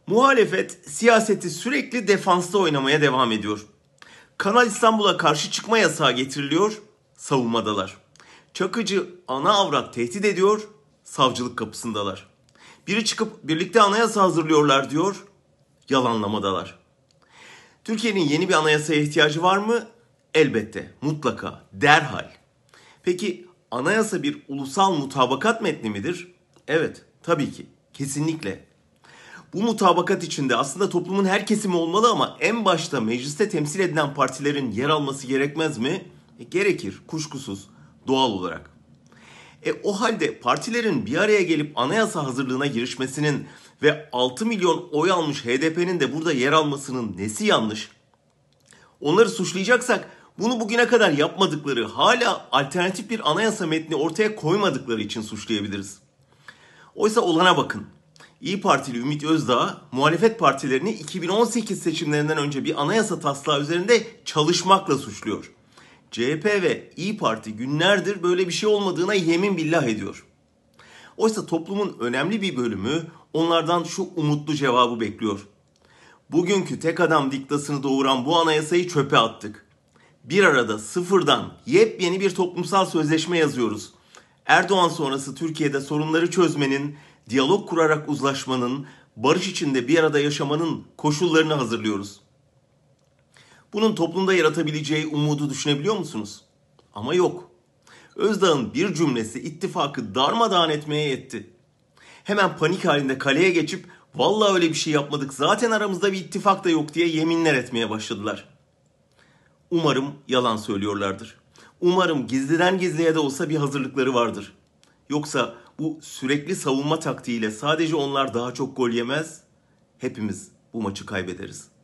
Muhalefet siyaseti sürekli defansta oynamaya devam ediyor. Kanal İstanbul'a karşı çıkma yasağı getiriliyor, savunmadalar. Çakıcı ana avrat tehdit ediyor, savcılık kapısındalar. Biri çıkıp birlikte anayasa hazırlıyorlar diyor, yalanlamadalar. Türkiye'nin yeni bir anayasaya ihtiyacı var mı? Elbette, mutlaka, derhal. Peki anayasa bir ulusal mutabakat metni midir? Evet, tabii ki, kesinlikle. Bu mutabakat içinde aslında toplumun her kesimi olmalı ama en başta mecliste temsil edilen partilerin yer alması gerekmez mi? Gerekir, kuşkusuz, doğal olarak. O halde partilerin bir araya gelip anayasa hazırlığına girişmesinin ve 6 milyon oy almış HDP'nin de burada yer almasının nesi yanlış? Onları suçlayacaksak bunu bugüne kadar yapmadıkları, hala alternatif bir anayasa metni ortaya koymadıkları için suçlayabiliriz. Oysa olana bakın. İyi Partili Ümit Özdağ, muhalefet partilerini 2018 seçimlerinden önce bir anayasa taslağı üzerinde çalışmakla suçluyor. CHP ve İyi Parti günlerdir böyle bir şey olmadığına yemin billah ediyor. Oysa toplumun önemli bir bölümü onlardan şu umutlu cevabı bekliyor. Bugünkü tek adam diktasını doğuran bu anayasayı çöpe attık. Bir arada sıfırdan yepyeni bir toplumsal sözleşme yazıyoruz. Erdoğan sonrası Türkiye'de sorunları çözmenin, diyalog kurarak uzlaşmanın, barış içinde bir arada yaşamanın koşullarını hazırlıyoruz. Bunun toplumda yaratabileceği umudu düşünebiliyor musunuz? Ama yok. Özdağ'ın bir cümlesi ittifakı darmadağın etmeye yetti. Hemen panik halinde kaleye geçip vallahi öyle bir şey yapmadık, zaten aramızda bir ittifak da yok diye yeminler etmeye başladılar. Umarım yalan söylüyorlardır. Umarım gizliden gizliye de olsa bir hazırlıkları vardır. Yoksa bu sürekli savunma taktiğiyle sadece onlar daha çok gol yemez, hepimiz bu maçı kaybederiz.